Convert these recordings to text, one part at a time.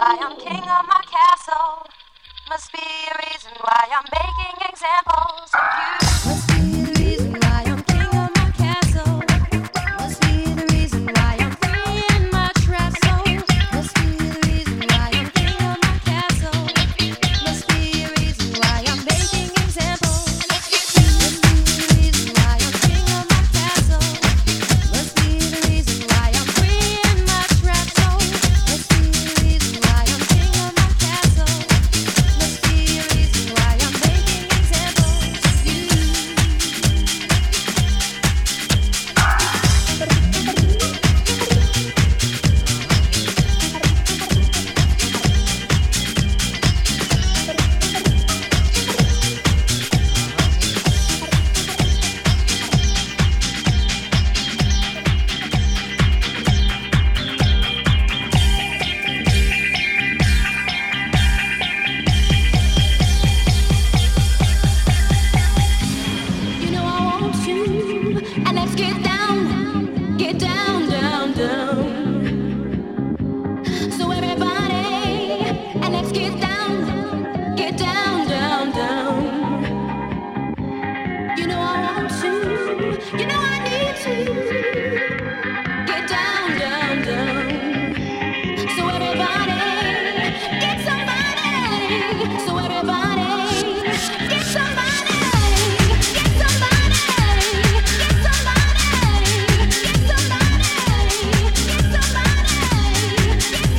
why I'm king of my castle. Must be a reason why I'm making examples of you. Must be the reason why I'm king of my castle. Must be the reason why I'm free in my trap soul. Must be the reason why I'm king of my castle. Must be a reason why I'm making examples. Must be the reason why I'm king of my castle. Must be the reason why I'm free in my trap soul. Must be the reason why I'm king of my castle. Must be a reason why I'm making examples of you. You know I want you, and let's get down, down. So everybody, and let's get down, down. You know I want you, you know I need to get down, down. So everybody, get somebody. So everybody, get somebody. Get somebody. Get somebody. Get somebody. Get somebody. Get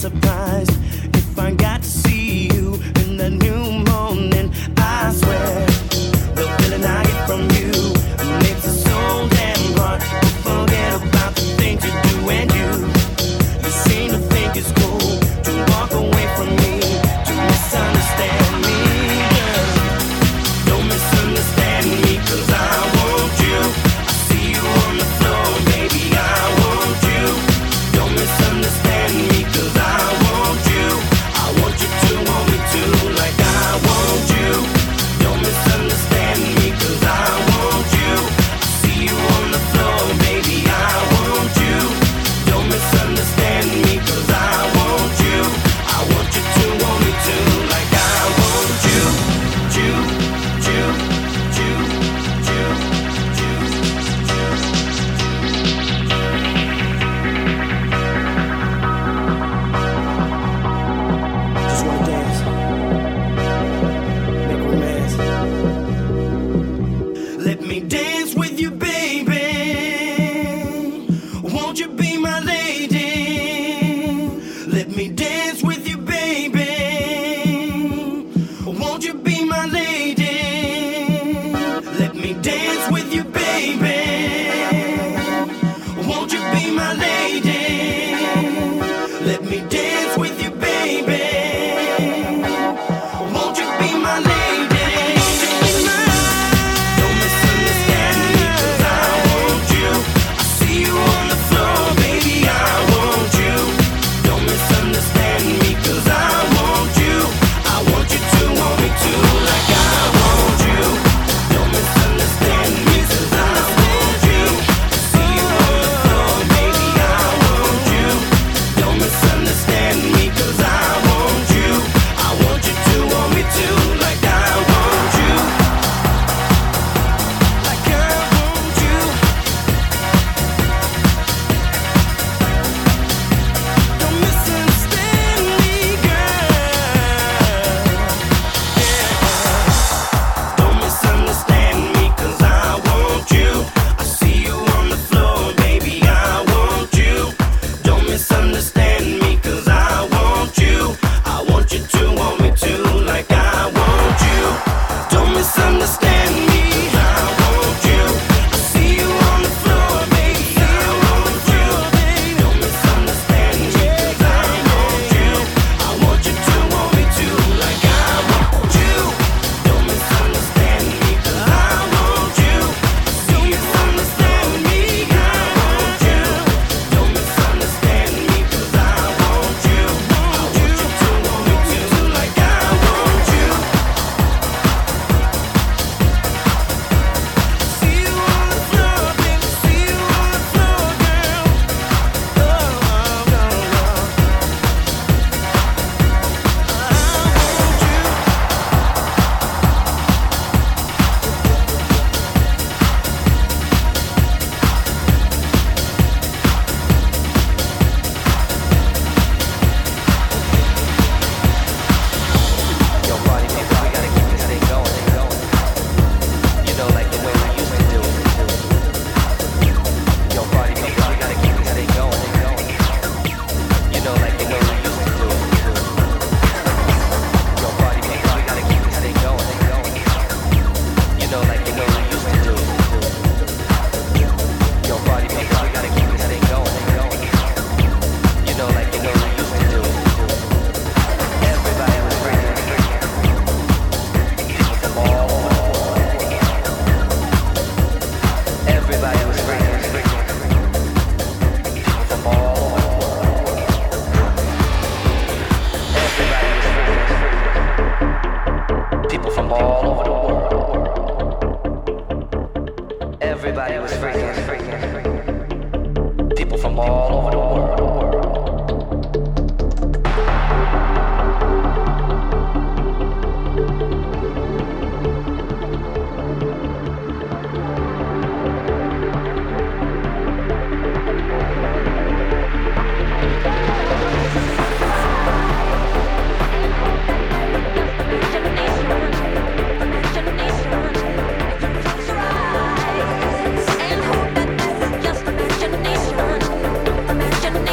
surprised if I got to see you in the new morning. I swear the feeling I get from you makes it so damn hard to forget about the things you do. And you seem to think it's cool to walk away from me, to misunderstand me. Girl, don't misunderstand me, 'cause I want you. I see you on the floor, baby, I want you. Don't misunderstand me, 'cause I want you. I want you to want me too, like I want you. Don't misunderstand me, 'cause I want you. I see you on the floor, baby, I want you. Don't misunderstand me, 'cause I want you. I want you to want me too, like I want you. You, you, you, you, you. Just wanna dance, make romance. Let me dance with you, baby. Won't you be my lady? Let me dance with you, baby. Won't you be my lady? Let me dance with you, baby. Won't you be my lady? Let me dance with you, baby. Won't you be my lady? Don't misunderstand me, 'cause I want you. I see you on the floor, baby, I want you. Don't misunderstand me, 'cause I want you. I want you to want me too, like I want you. Don't misunderstand me, 'cause I want you. I see you on the floor, baby, I want you. Don't misunderstand me, 'cause I want you. I want you to want me too, like I want you. Like I want you. Don't misunderstand me, girl. Don't misunderstand me, 'cause I want you. I see you on the floor, baby, I want you. Don't misunderstand me, 'cause I want you. I want you to want me too, like I want you. Don't misunderstand me, 'cause I want you. I see you on the floor, baby, I want you. Don't misunderstand me, 'cause I want you. I want you to want me too, like I want you. Don't misunderstand me, 'cause I want you. See you understand me, I want you. Don't misunderstand me, 'cause I want you. I want you to want me too, like I want you. See you on the floor, baby, see you on the floor, girl. Oh, oh, oh, oh. Yo, party people, we gotta keep this thing going. You know, like the way we used to do it. Yo, party people, we gotta keep this thing going. You know, like the way we used to do it. Yo, party people, we gotta keep this thing going. You know, like the way we used to do it. Yo, party people, we gotta keep this thing going. You know, like the way we used to do it. Everybody was freaking. Everybody was freaking. From all over the world. Everybody was freaking. People from all over the world. Everybody was freaking. People from all over the world. Imagination.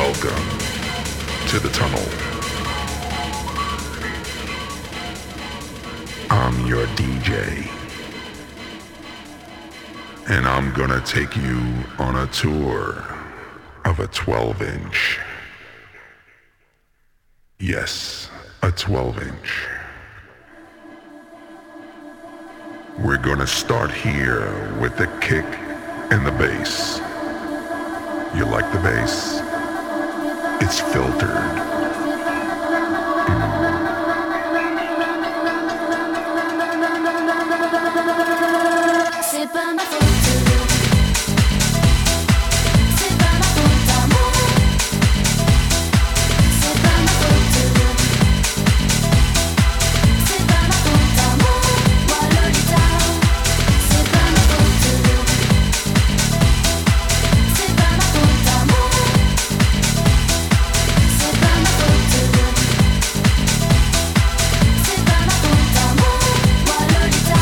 Welcome to the tunnel. I'm your DJ. And I'm gonna take you on a tour of a 12-inch. Yes, a 12-inch. We're gonna start here with the kick and the bass. You like the bass? It's filtered. C'est pas ma faute. C'est pas ma faute d'amour. C'est pas ma faute. C'est pas ma faute d'amour. Moi Lolita. C'est pas ma faute. C'est pas ma faute d'amour. C'est pas ma faute. C'est pas ma faute d'amour. Moi Lolita.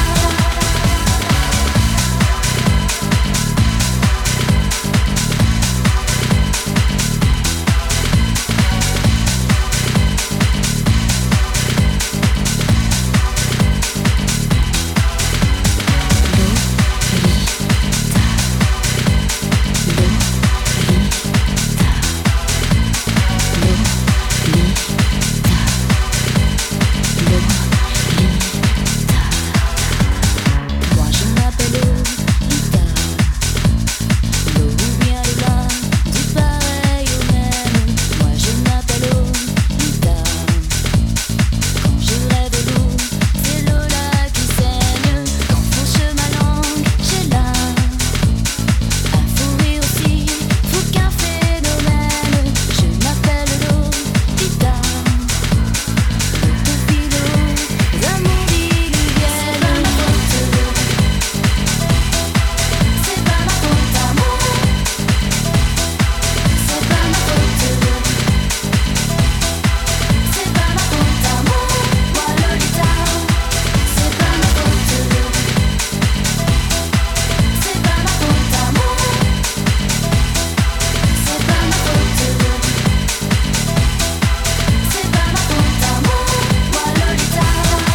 Moi je m'appelle Lolita. L'eau ou bien le bas, du pareil au même. Moi je m'appelle Lolita. Quand je rêve d'eau, c'est Lola qui saigne. Quand fauche ma langue, j'ai là un fou rire aussi, fou qu'un phénomène. Je m'appelle Lolita. L'autophilo, l'amour diluvienne. C'est pas ma faute d'amour. C'est pas ma faute. C'est pas ma faute d'amour. Moi Lolita. C'est pas ma faute. C'est pas ma faute d'amour. C'est pas ma faute. C'est pas ma faute d'amour. Moi Lolita.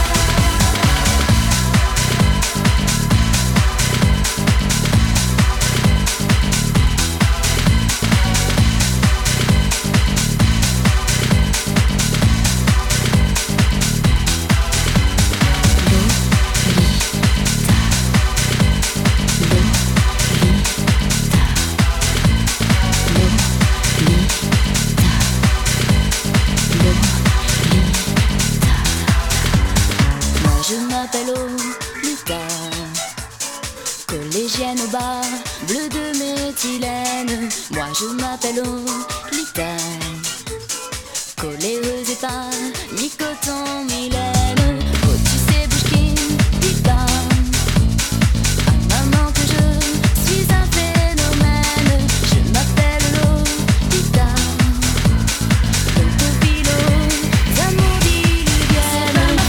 Moi je m'appelle Lolita, collégienne au bar, bleu de méthylène. Moi je m'appelle Lolita, coléreuse et pas mi-coton, mi-laine. Oh tu sais Bouchkine, Lolita, à maman que je suis un phénomène. Je m'appelle Lolita, l'autophilo, l'amour diluvienne.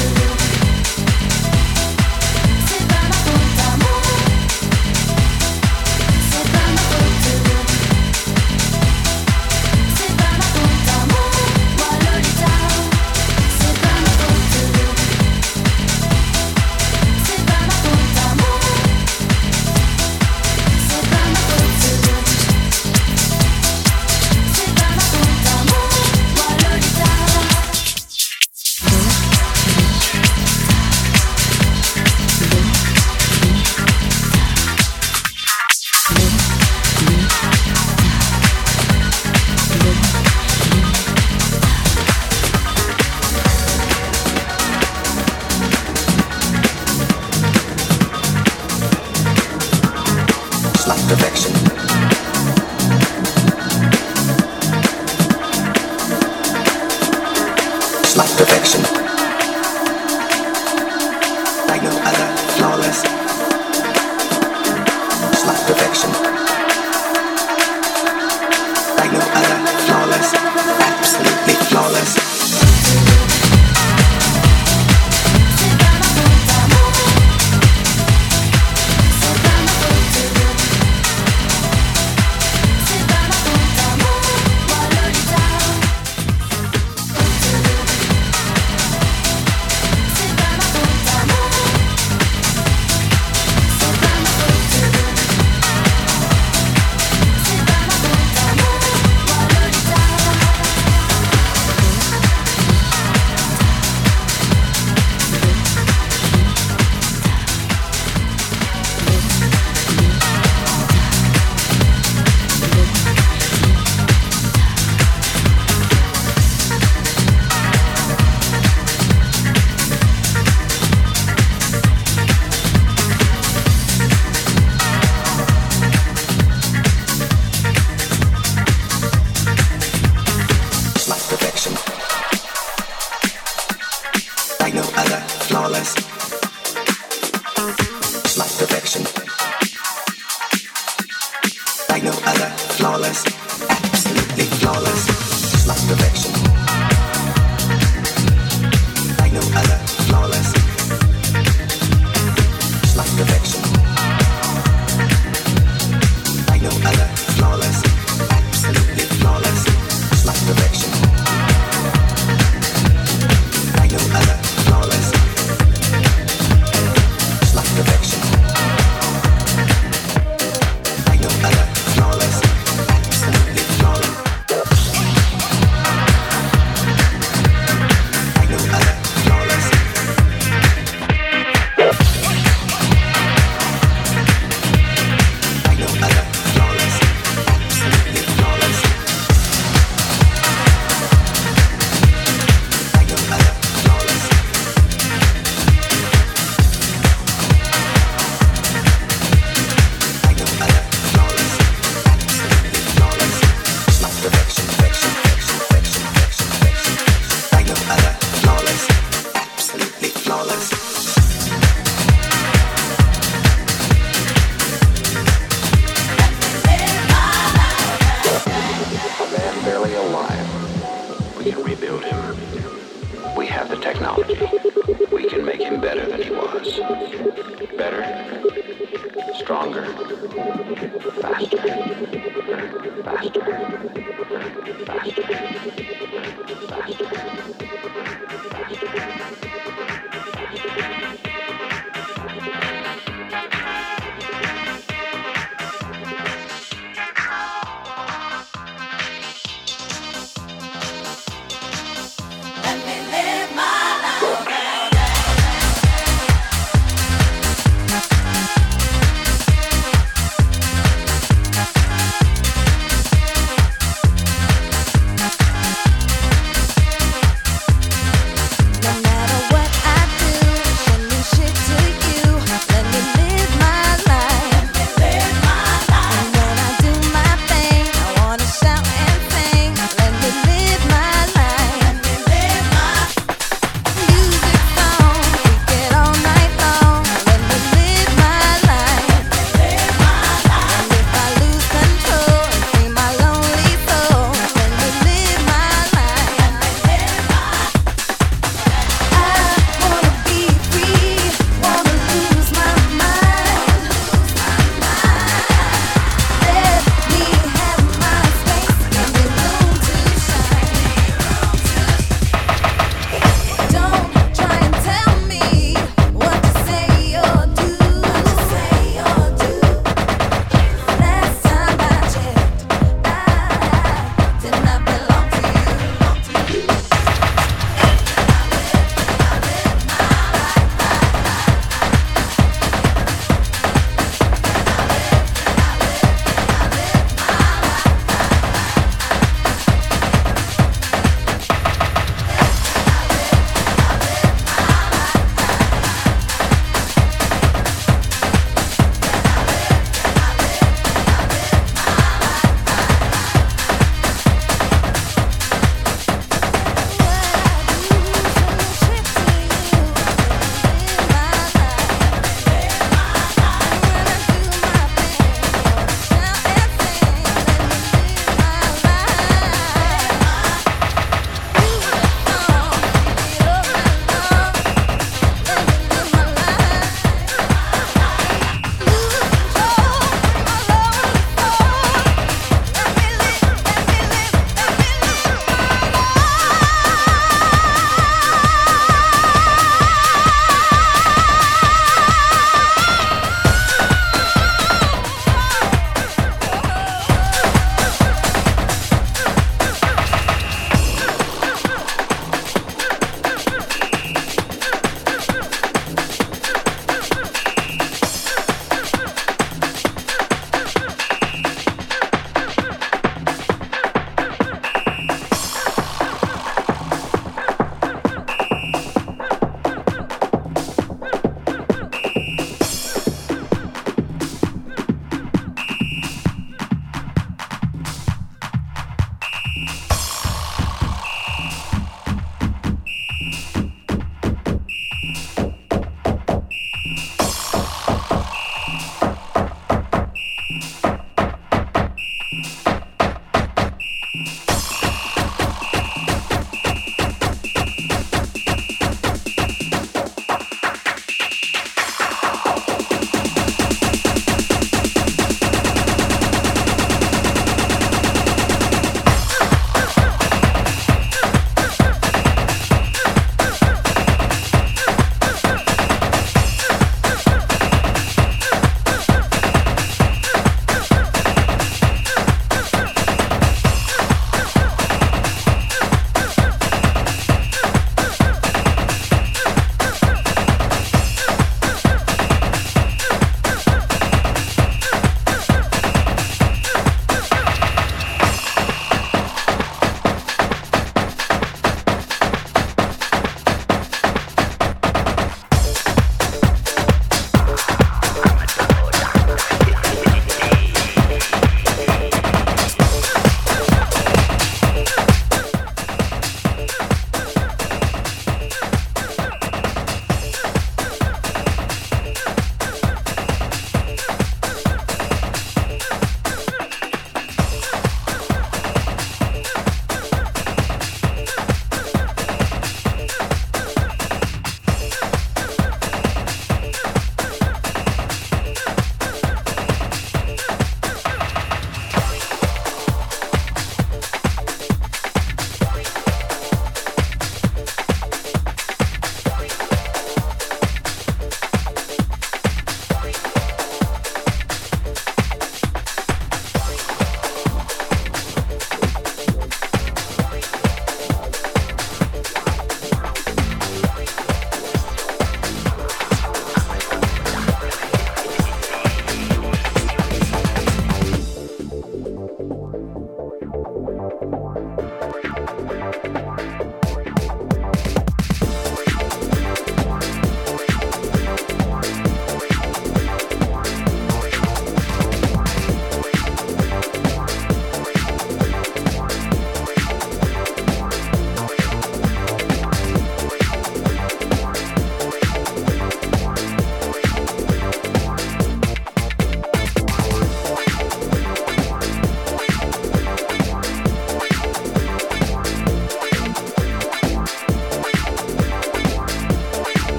C'est pas ma faute d'amour. C'est pas ma faute.